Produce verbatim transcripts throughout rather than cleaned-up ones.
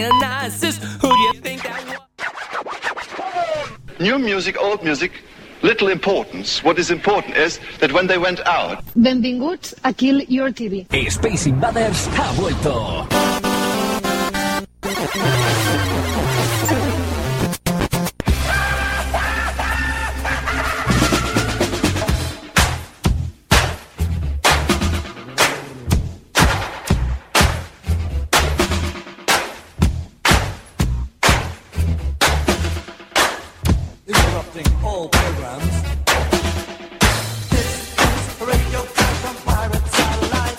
New music, old music, little importance. What is important is that when they went out. Benvinguts a Kill Your T V. Space Invaders ha vuelto. All programs. This is Radio from Pirate Satellite.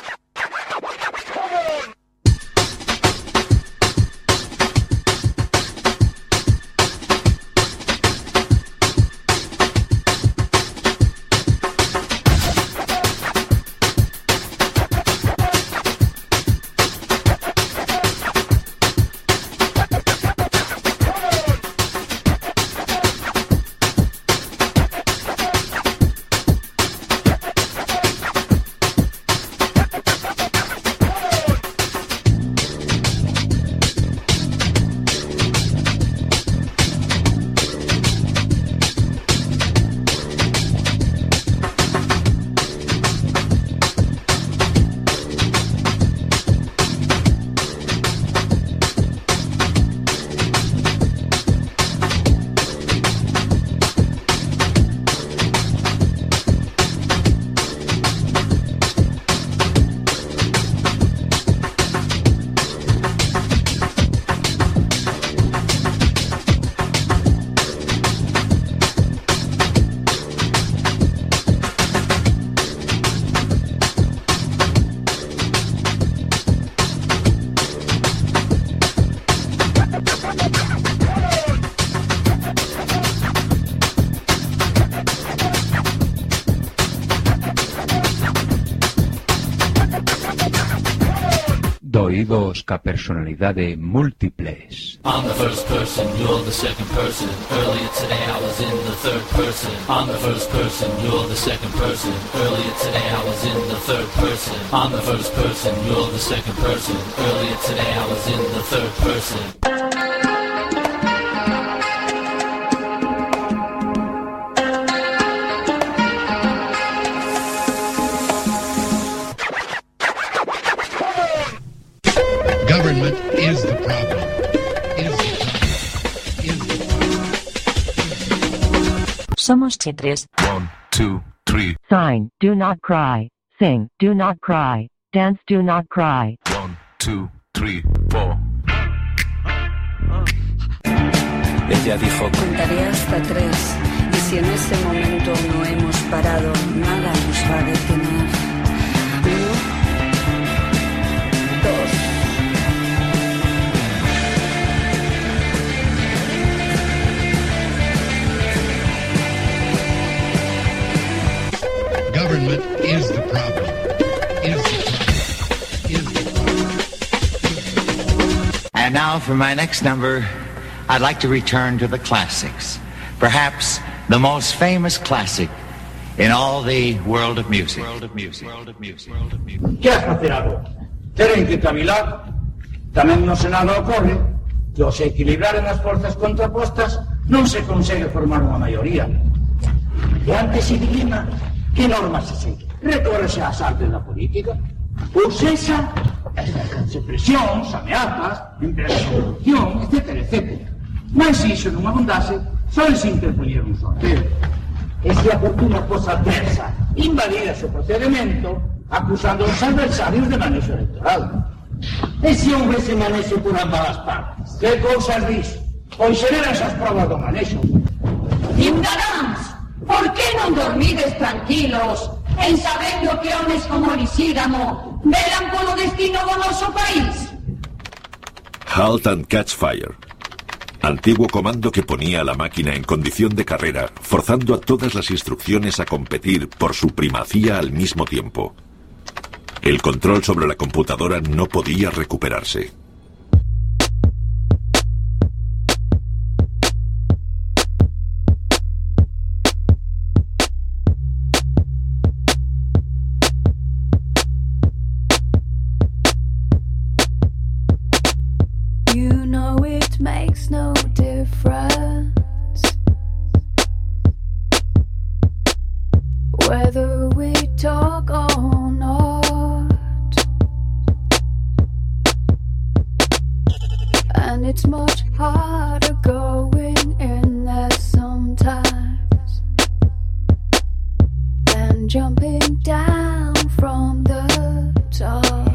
Doidos ca personalidade múltiples. I'm the first person, you're the second person. Earlier today I was in the third person. I'm the first person, you're the second person. Earlier today I was in the third person. I'm the first person, you're the second person. Earlier today I was in the third person. Government is the problem. Is the problem. Is the problem. Somos Tetris. One, two, three. Sign, do not cry. Sing, do not cry. Dance, do not cry. One, two, three, four. Ella dijo: contaré hasta tres. Y si en ese momento no hemos parado, nada nos va a detener. Uno, dos. Government is the problem. Is the problem. Is the problem. And now for my next number, I'd like to return to the classics. Perhaps the most famous classic in all the world of music. World of music. World of music. World of music. ¿Qué has facer agora? Teren que cavilar. Tamén no Senado ocorre que ao se equilibraren as forzas contrapostas non se consegue formar unha maioría. E antes se dilema que normas se segue. Recórrese ás artes da política. Ou sexa, as presións, ameazas, empresas de corrupción, etcétera, etcétera. Mas se iso non abundase, só se interpoñer un sorteo. E se a fortuna fosa adversa, invalidase o procedimento, acusando os adversarios de manexo electoral. E se houvese manexo por ambas as partes? Que cousas dis? Pois xeran esas probas do manexo. Cidadáns, por que non dormides tranquilos en sabendo que homes como Lisígamo velan polo destino do noso país? Halt and Catch Fire. Antiguo comando que ponía a la máquina en condición de carrera, forzando a todas las instrucciones a competir por su primacía al mismo tiempo. El control sobre la computadora no podía recuperarse. You makes no difference whether we talk or not, and it's much harder going in there sometimes than jumping down from the top.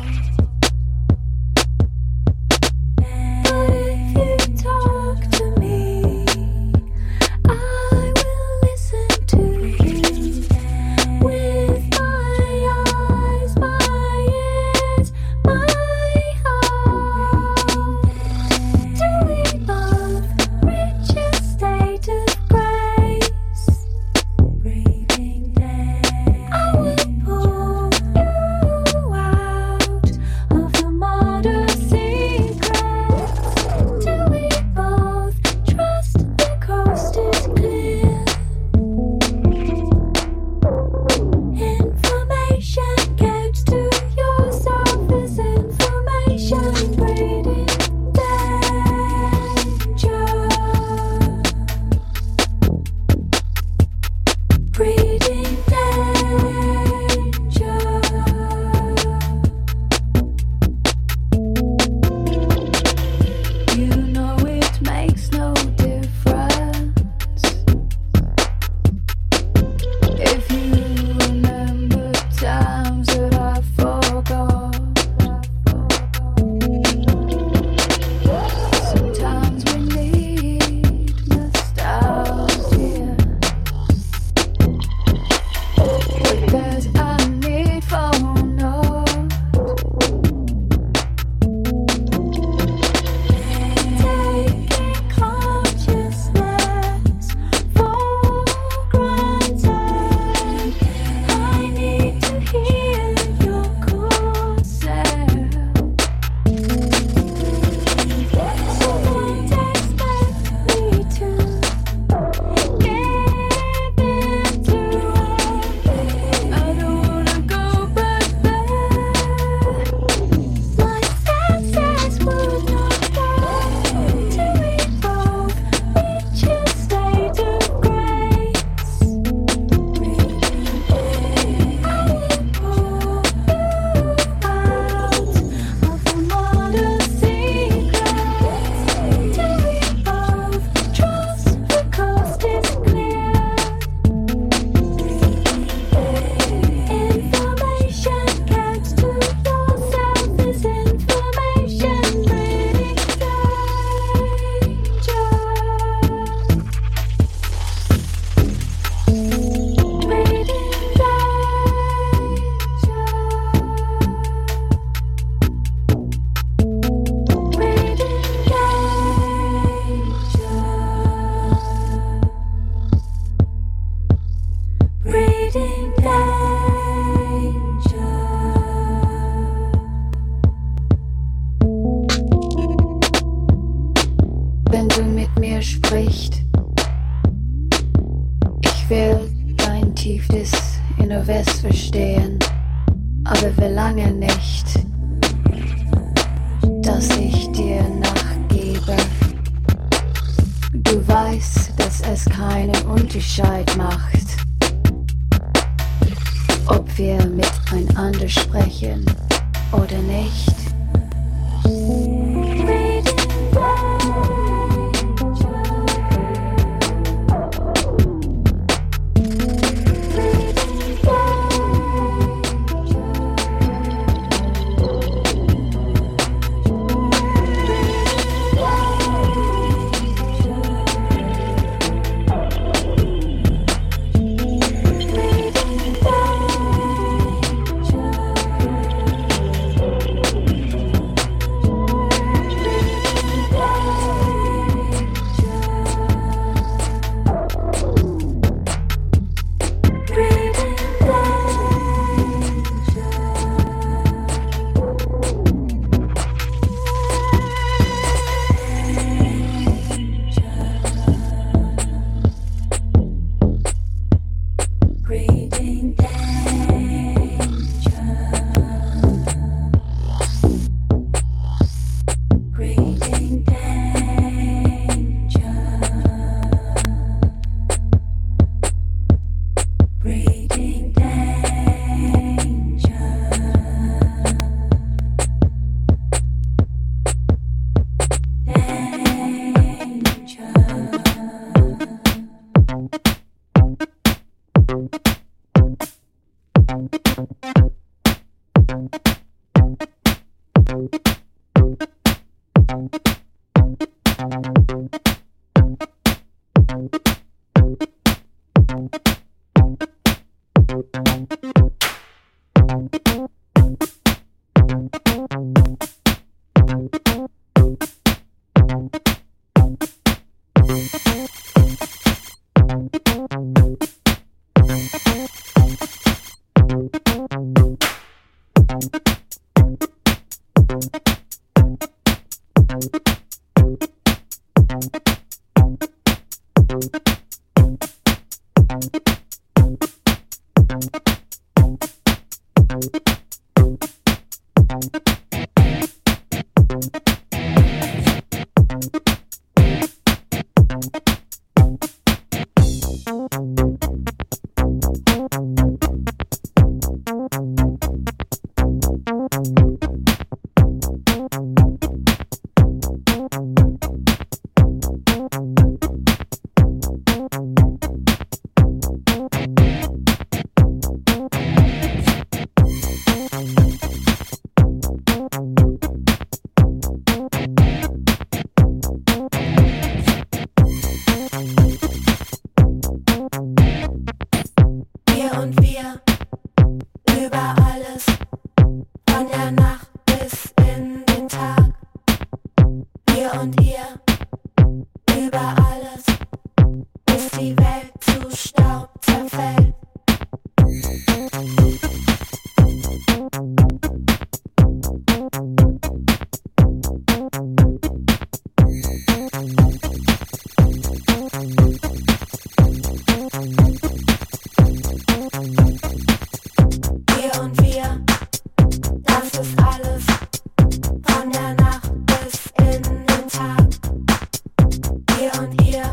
Hier und hier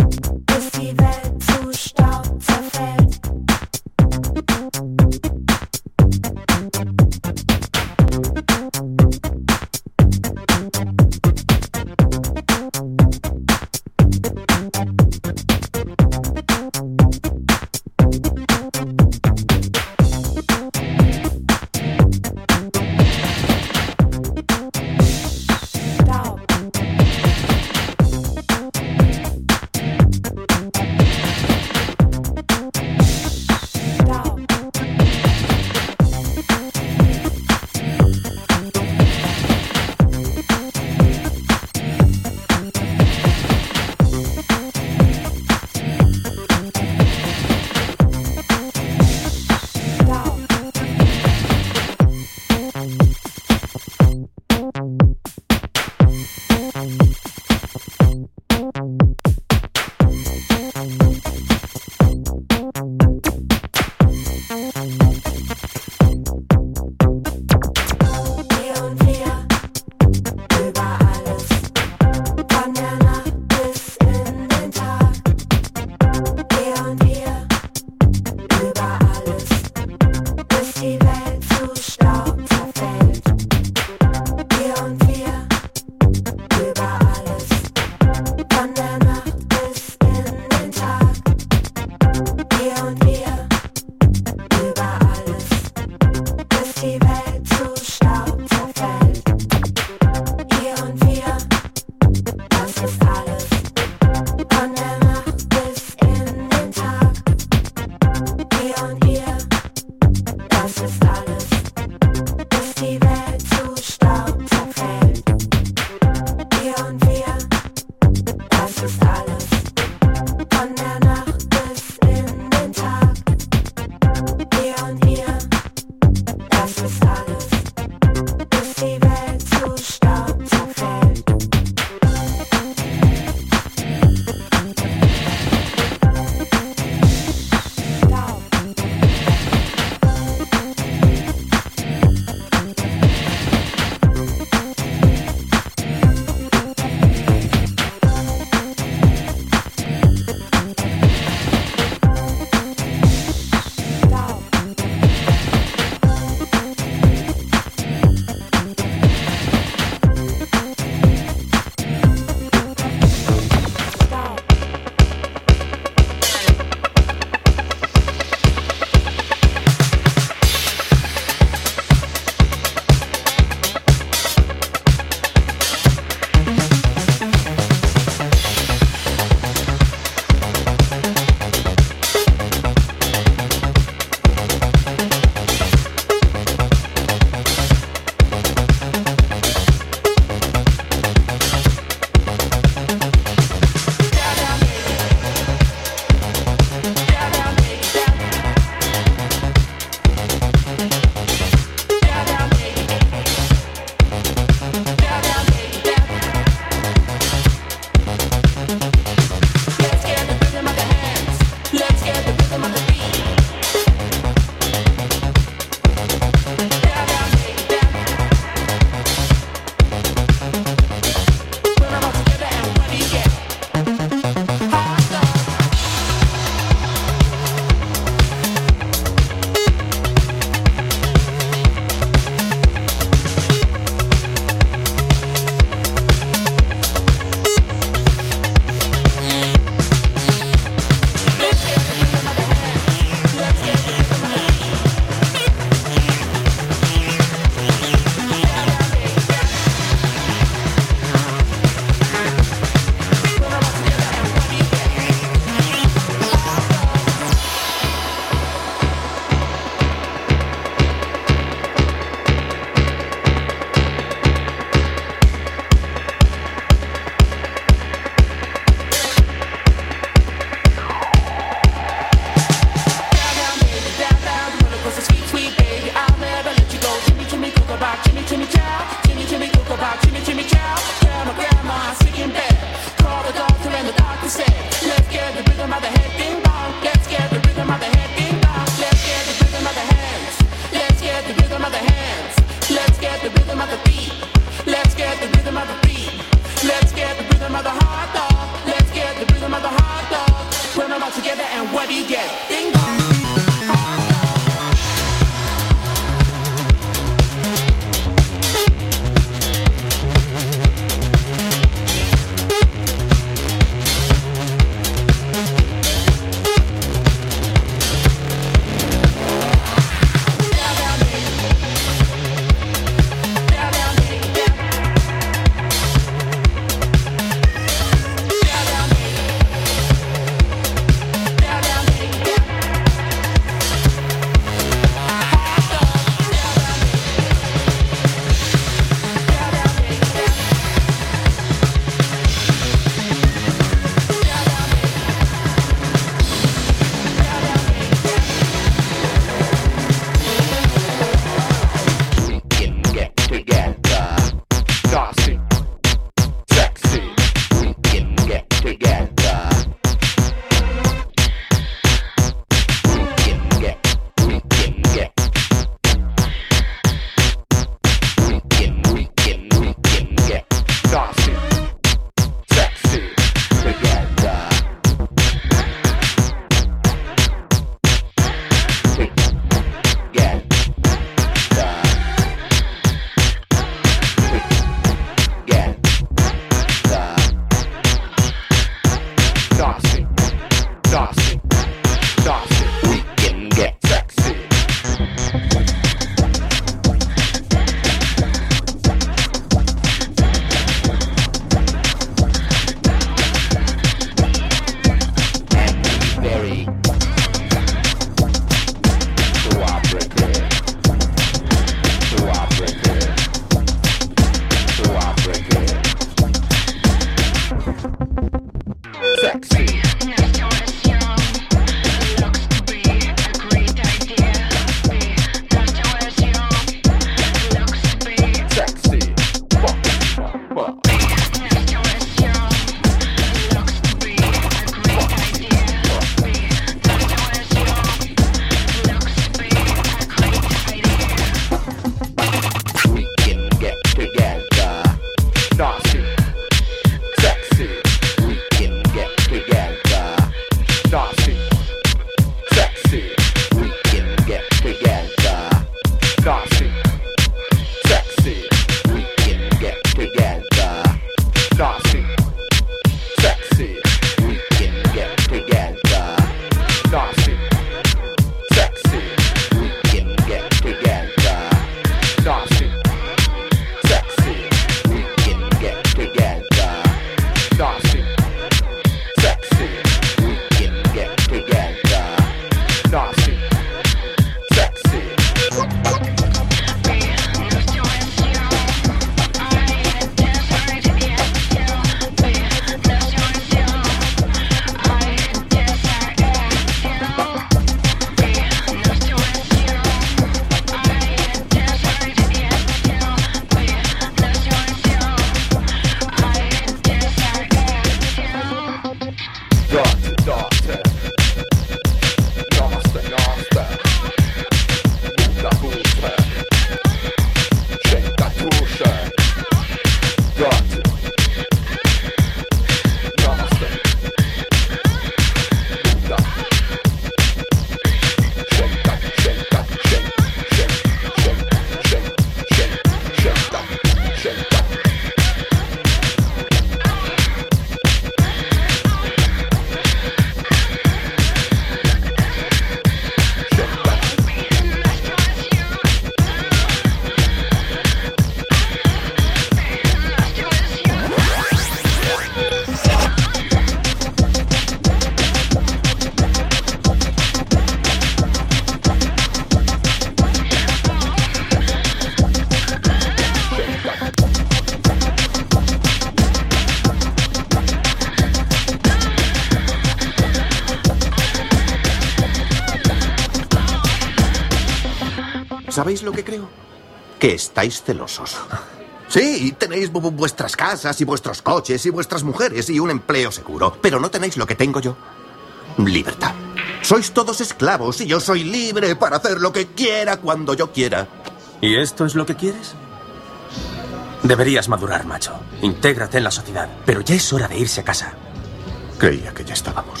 ¿Sabéis lo que creo? Que estáis celosos. Sí, tenéis vu- vuestras casas y vuestros coches y vuestras mujeres y un empleo seguro, pero no tenéis lo que tengo yo. Libertad. Sois todos esclavos y yo soy libre para hacer lo que quiera cuando yo quiera. ¿Y esto es lo que quieres? Deberías madurar, macho. Intégrate en la sociedad, pero ya es hora de irse a casa. Creía que ya estábamos.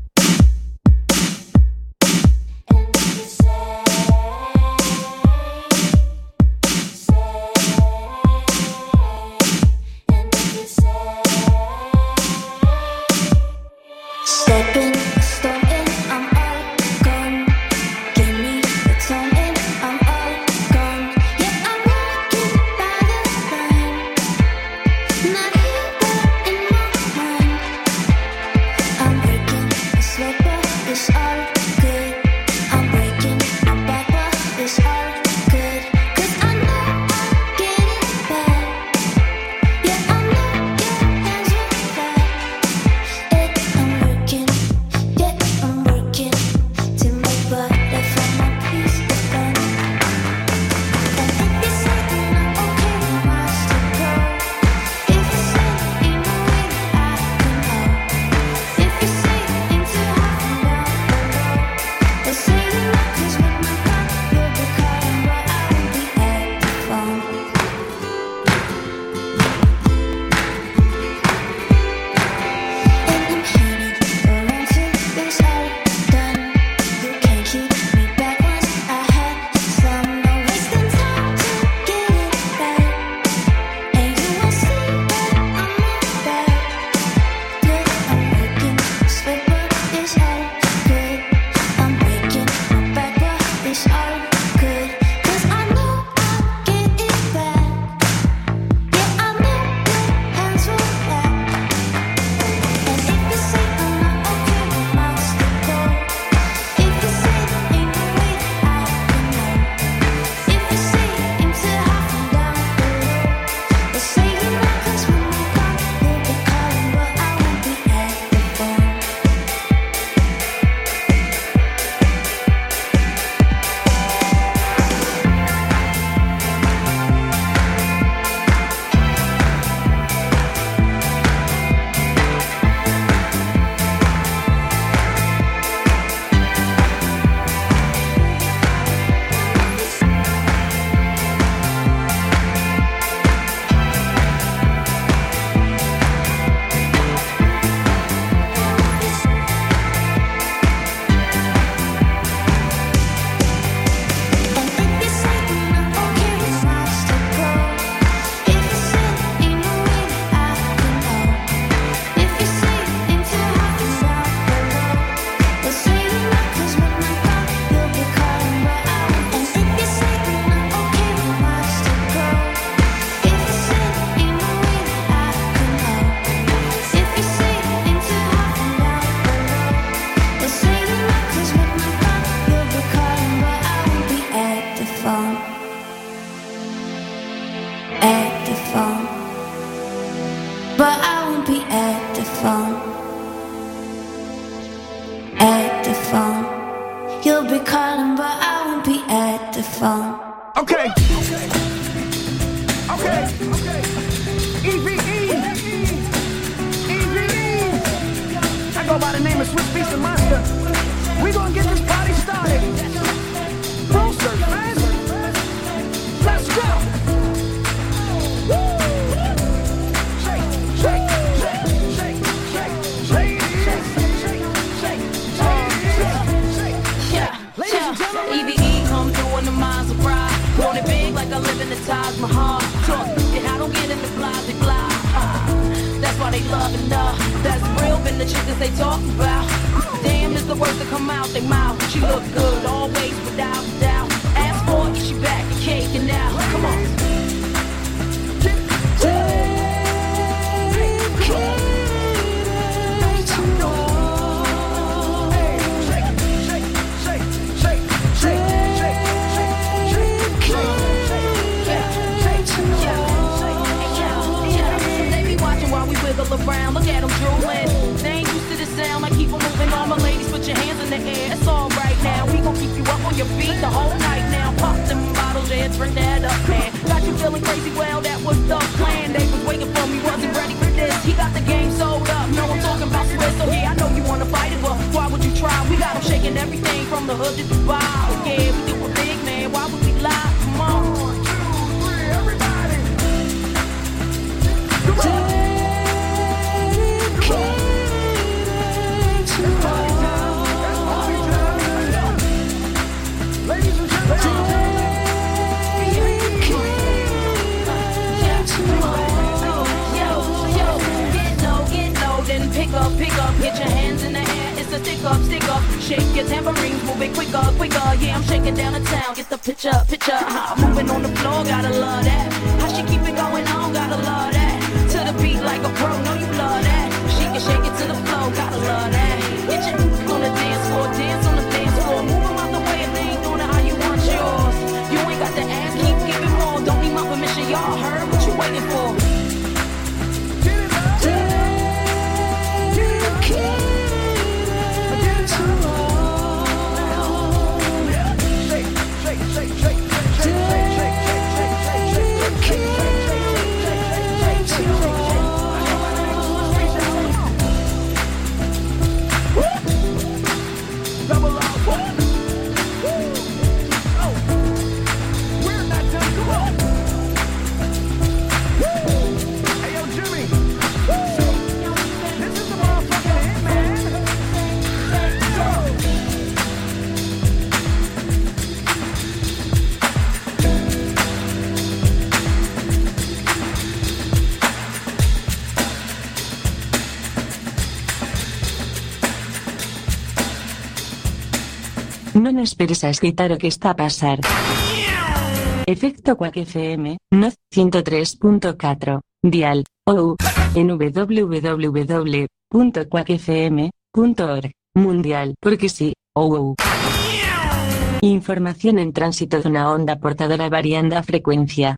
Stepping, stomping, I'm all gone. Give me the toning, I'm all gone. Yeah, I'm walking by the line. Not here, but in my mind. I'm breaking a sweat, but it's all good. I'm breaking my back, but it's all good. 'Cause I know I'm getting back. Yeah, I know your hands were fat. It, I'm working. Yeah, I'm working to make butter from my piece of fun. And if you say you're not okay, you must go. If you say ain't no way that I can know. If you say into half and down below, they'll say you're not 'cause when I'm gone, you'll be calling, but I won't be at the phone. And I'm headed around till it's all done. You can't keep me back once I had some. No wasting time to get it right. And you won't see that I'm not bad. Look, I'm working, sweat, but it's all good. I'm breaking my back, but it's all good. 'Cause I know I'll get it back. Yeah, I know your hands will clap. And if you say I'm not okay, you must go. If you say ain't no way that I can know. If you say into half and down below, they'll say you're not 'cause when I'm gone, you'll be calling, but I won't be at the phone. And if you say I'm not okay, you must go. If you say ain't no way that I can know. If you say into half and down below, they'll say you're not 'cause when I'm gone, you'll be calling, but I won't. And if you say I'm not okay, you must go. If you say ain't no way that I can know. If you say into half and down below, they'll say you're not 'cause when I'm gone, you'll be calling, but I won't be at the phone. At the phone. But I won't be at the phone. At the phone. You'll be calling, but I won't be at the phone. Okay. Okay. E V E. E V E. I go by the name of Swiss Beast and Monster. We gonna get this party started. Closer, man. Let's go. Woo. Shake, shake, shake, shake, shake, shake, shake, shake, shake, shake, shake. Yeah, yeah. E V E come through in the minds of pride. Want it big like I live in the Taj Mahal. Talk, and I don't get in the blah, they blah. Uh, that's why they love and uh, that's real been the chickens they talk about. Damn is the words that come out they mouth. She look good always without a doubt. Ask for it, she back and cake and now. Come on. Around, look at them drooling. They ain't used to the sound, like keep 'em moving. All my ladies, put your hands in the air. It's all right now. We gon' keep you up on your feet the whole night now. Pop them by. feeling crazy, well, that was the plan. They was waiting for me, wasn't ready for this. He got the game sold up, no, I'm talking about Swiss. So yeah, I know you wanna fight it, but why would you try? We got them shaking everything from the hood to Dubai. Yeah, we do it big, man, why would we lie? Come on. One, two, three, everybody. Come on. Pick up, pick up, get your hands in the air, it's a stick up, stick up. Shake your tambourines, move it quicker, quicker. Yeah, I'm shaking down the town, get the picture, picture. How I'm moving on the floor, gotta love that. How she keep it going on, gotta love that. To the beat like a pro, know you love that. She can shake it to the floor, gotta love that. Get your on the dance floor, dance on the dance floor. Move them out the way if they ain't doing it how you want yours. You ain't got the ass, keep giving more. Don't need my permission, y'all heard what you waiting for. Non esperes a escritar o que está a pasar. Efecto Quack F M, no ciento tres punto catro, dial, ou, en w w w punto quack f m punto org, mundial, porque sí, ou ou. Información en tránsito dunha onda portadora variando a frecuencia.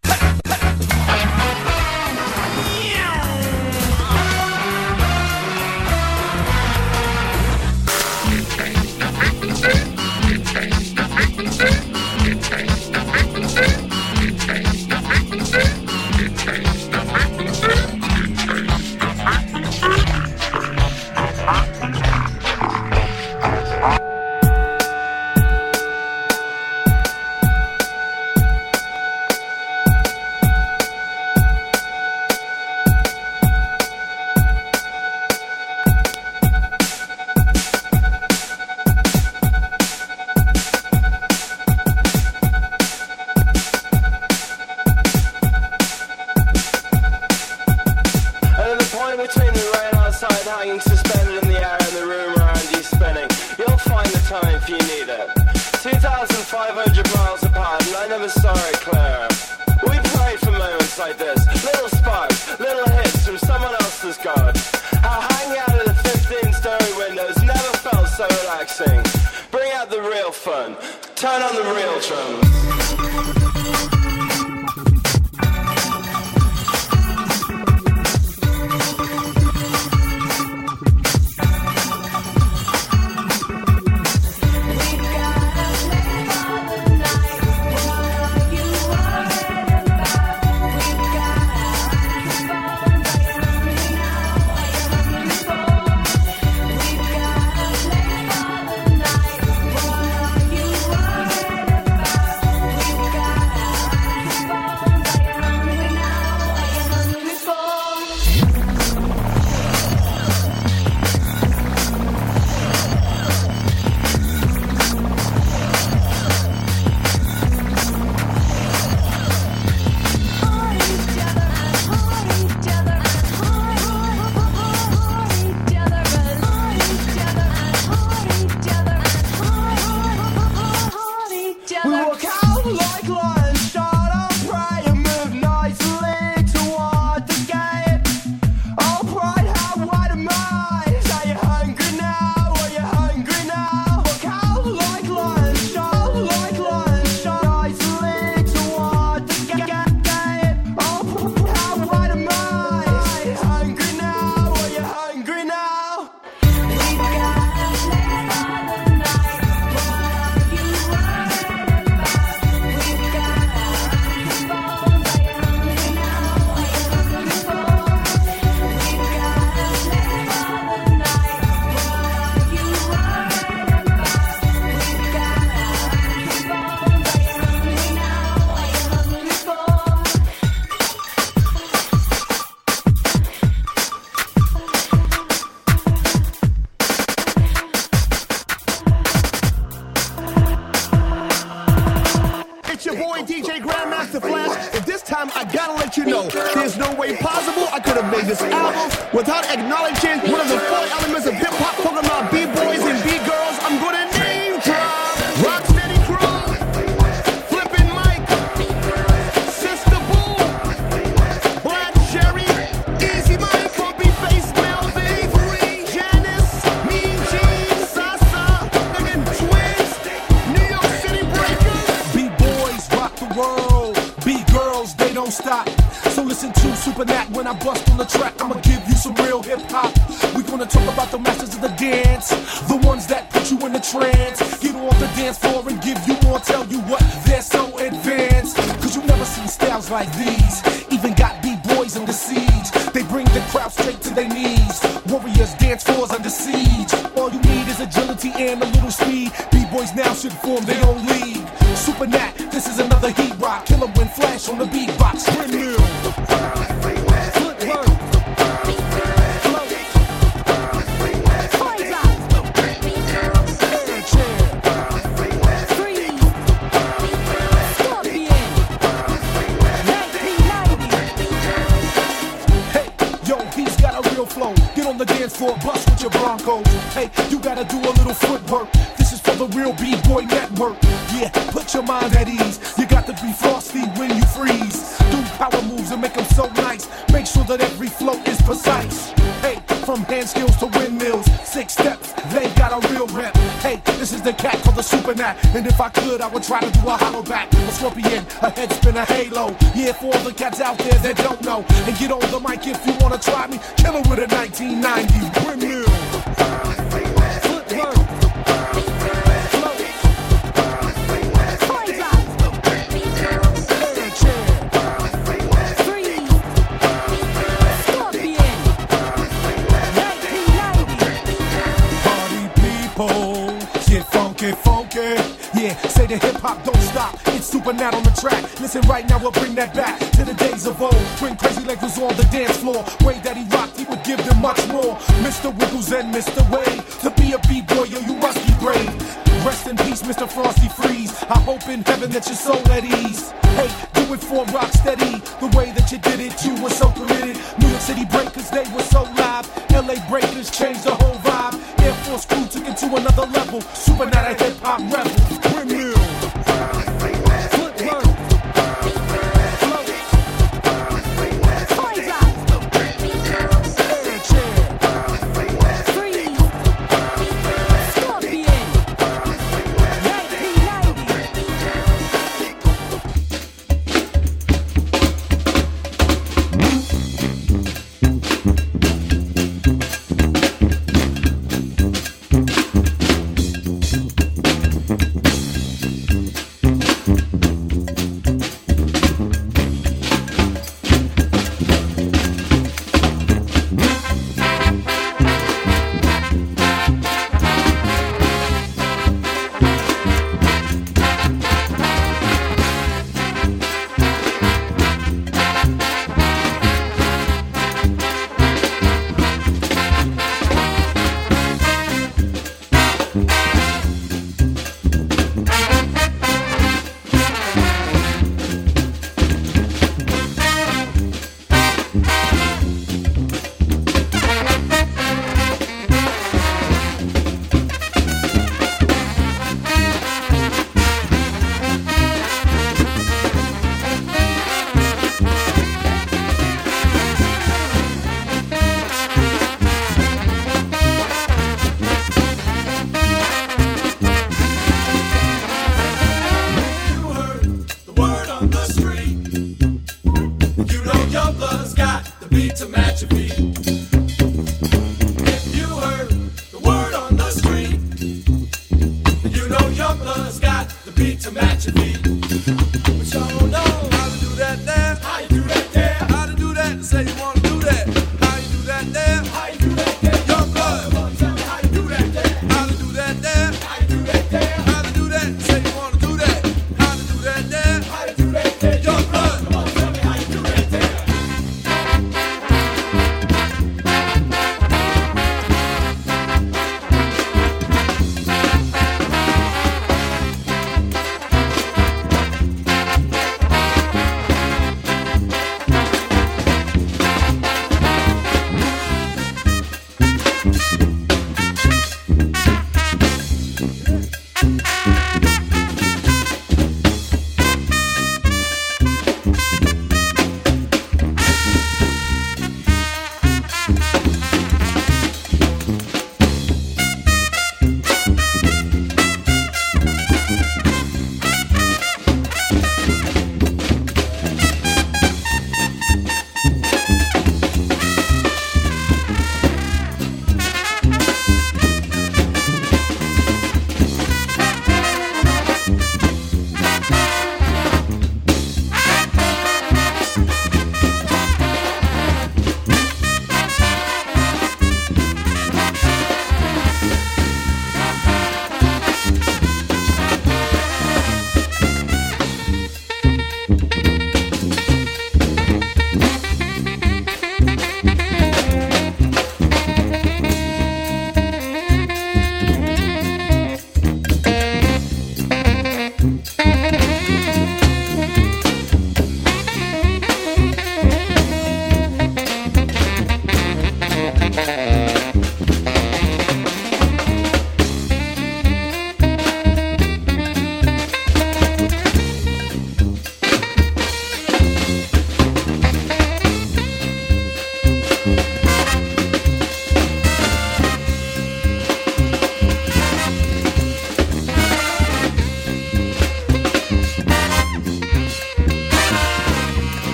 made this album without acknowledging one of the four elements of hip-hop, talking about B-boys and B-girls. I'm gonna name drop Rocksteady Crew, Flippin' Mike, Sister Boo, Black Sherry, Easy Mike, Pumpy Face, Melvin, Avery, Janice, Mean Gene, Sasa, and Twins, New York City Breakers. B-boys rock the world, B-girls, they don't stop. So listen to Super Nat when I bust on the track. I'ma give you some real hip hop. We gonna talk about the masters of the dance, the ones that put you in a trance. Get off the dance floor and give you more. Tell you what, they're so advanced. Cause you never seen styles like these. Even got B-boys under siege. They bring the crowd straight to their knees. Warriors dance floors under siege. All you need is agility and a little speed. B-boys now should form their own league. Super Nat, this is another heat rock. Kill 'em when flash on the beatbox. Windmill. Get on the dance floor, bust with your Broncos. Hey, you gotta do a little footwork. This is for the real B-Boy Network. Yeah, put your mind at ease. You got to be frosty when you freeze. Do power moves and make them so nice. Make sure that every flow is precise. Hey, from hand skills to windmills, six steps, they got a real rep. Hey, this is the cat called the Super Nat. And if I could, I would try to do a hollow back, a scorpion, a head spin, a halo. Yeah, for all the cats out there that don't know. And get on the mic if you wanna try me. Kill it with a nineteen ninety windmill. Yeah, say the hip-hop don't stop. It's Super Nat on the track. Listen right now, we'll bring that back to the days of old, when Crazy Legs was on the dance floor. Way that he rocked, he would give them much more. Mister Wiggles and Mister Wade. To be a B-boy, yo, you must be brave. Rest in peace, Mister Frosty Freeze. I hope in heaven that your soul at ease. Hey, do it for Rocksteady. The way that you did it, you were so committed. New York City Breakers, they were so live. L A Breakers changed the whole vibe. Air Force Crew took it to another level. Super Nat, a hip-hop rebel. Windmill.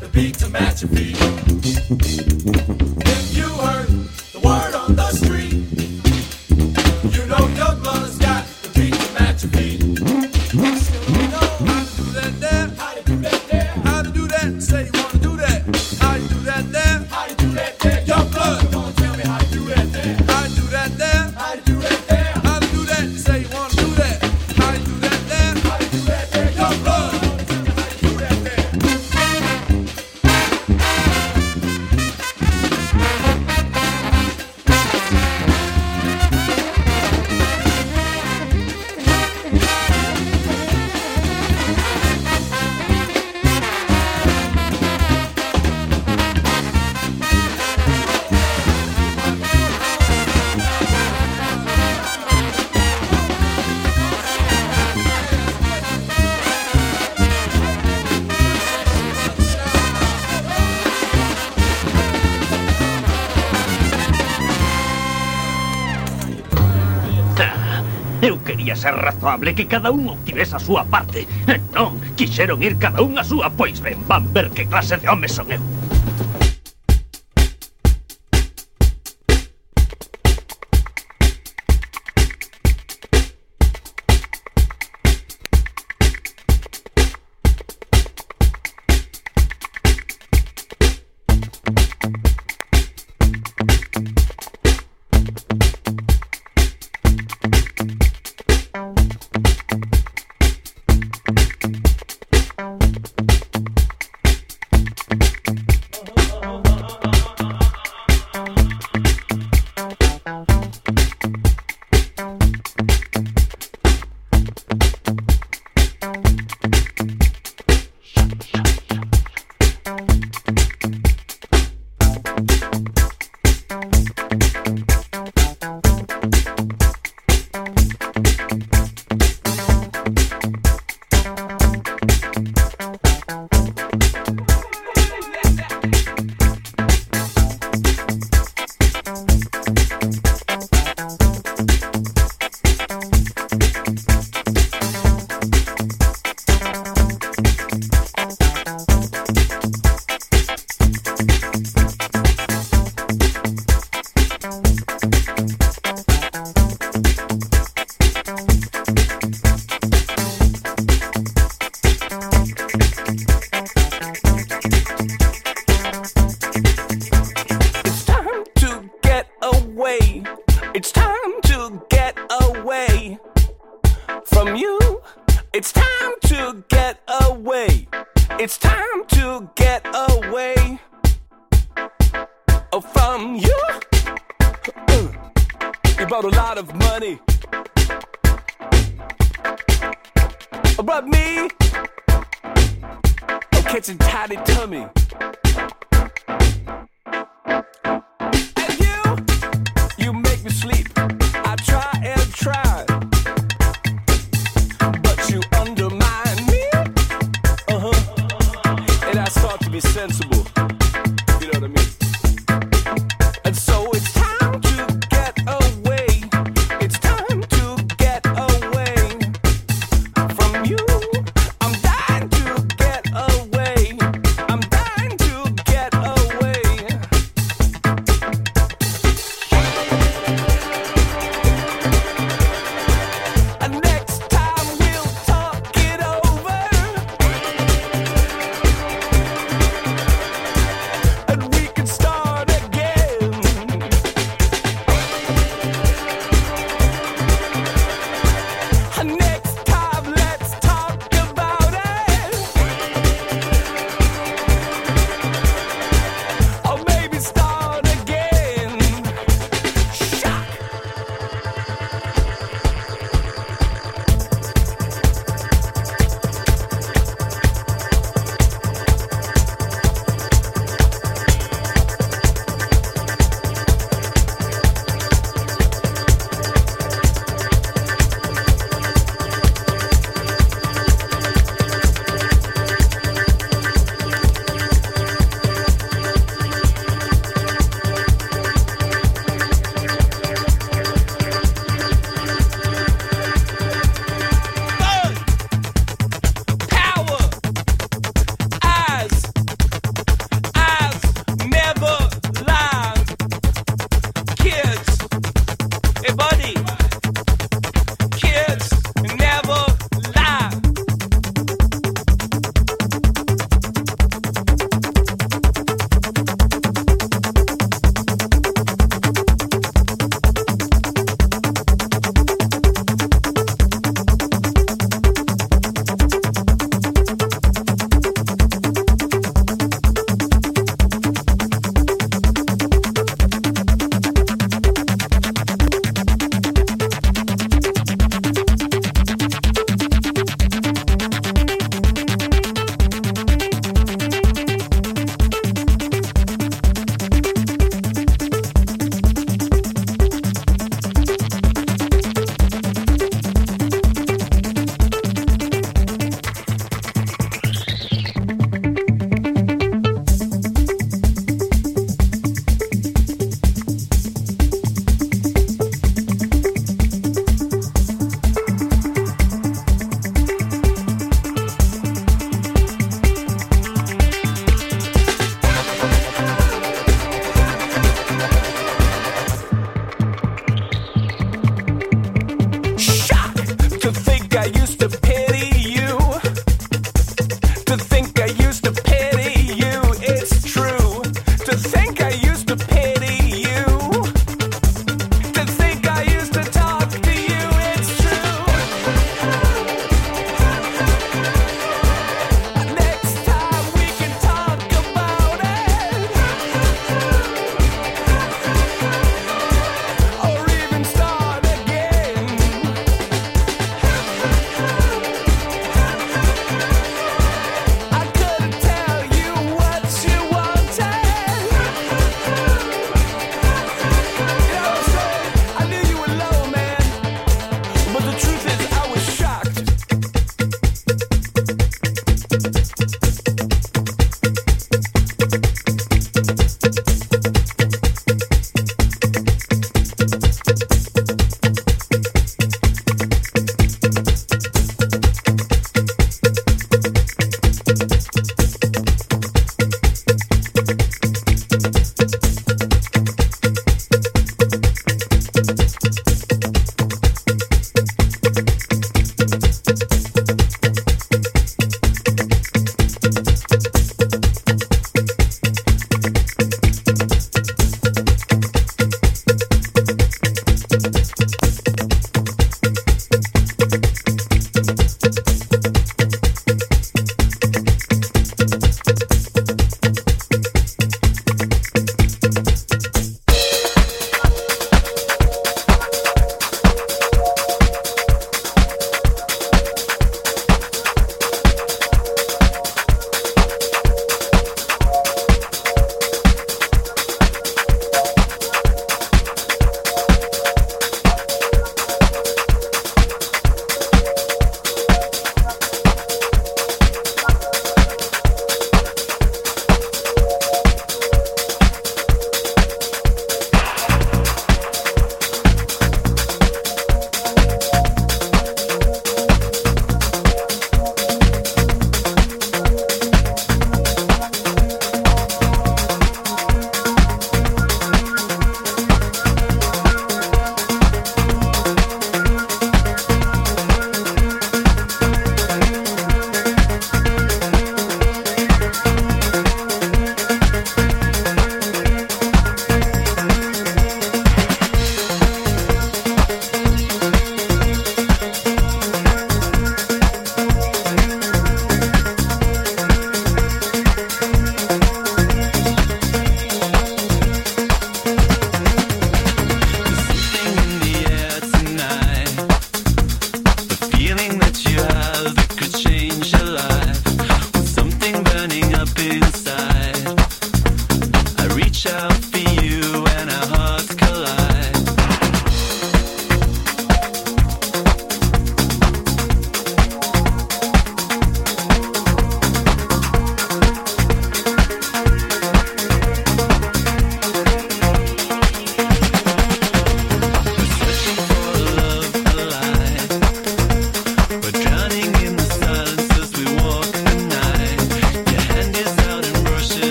the beat to match your feet. If you heard the word on the street, you know your brother's got the beat to match your feet. You know how to do that there, how to do that there, how to do that, say you wanna do that, how you do that there, how you do that there, your blood, don't tell me how to do that there, how you do that there, how you do that there, how to do that, say you wanna do that, how you do that there, how you do that there, your blood, don't tell me how you do that there. Eu quería ser razoable, que cada un obtivese a súa parte. E non, quixeron ir cada un a súa. Pois ben, van ver que clase de home son eu.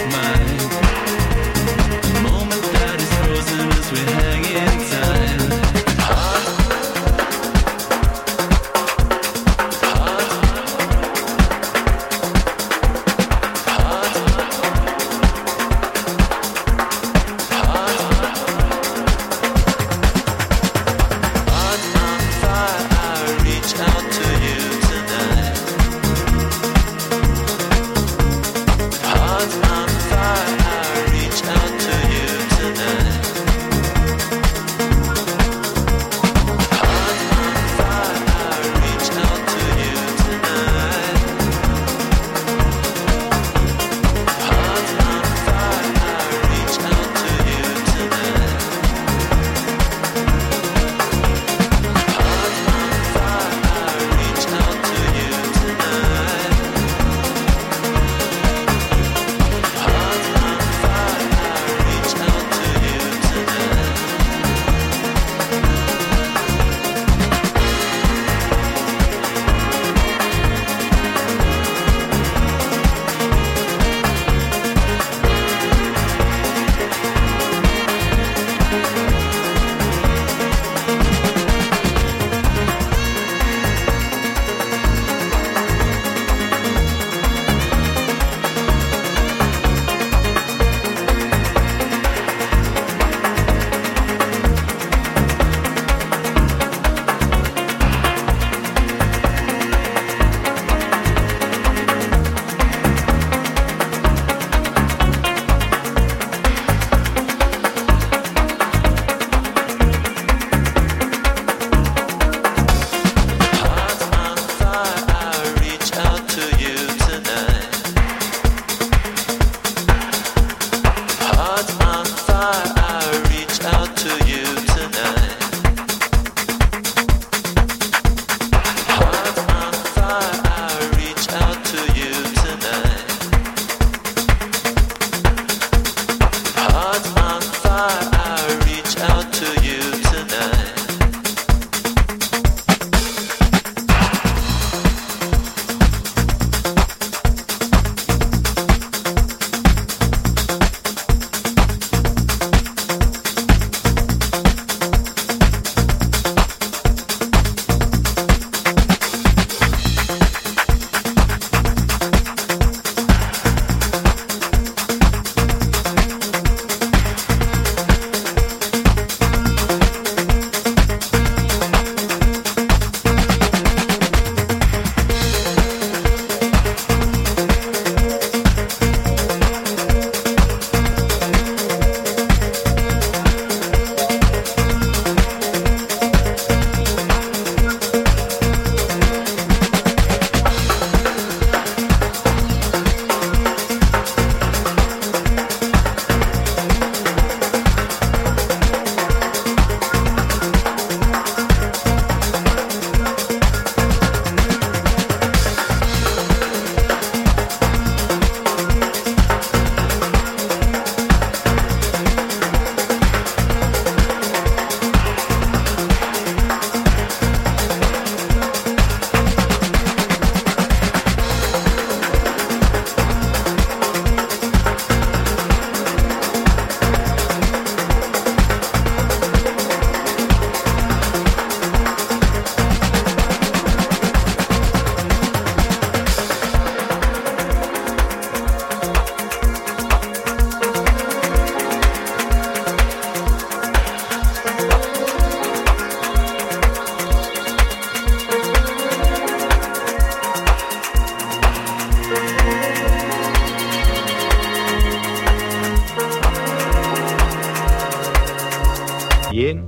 Bien,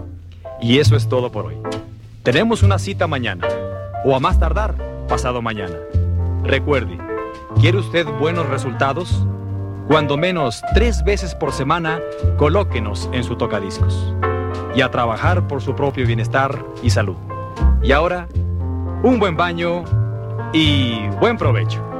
y eso es todo por hoy. Tenemos una cita mañana, o a más tardar, pasado mañana. Recuerde, ¿quiere usted buenos resultados? Cuando menos tres veces por semana, colóquenos en su tocadiscos. Y a trabajar por su propio bienestar y salud. Y ahora, un buen baño y buen provecho.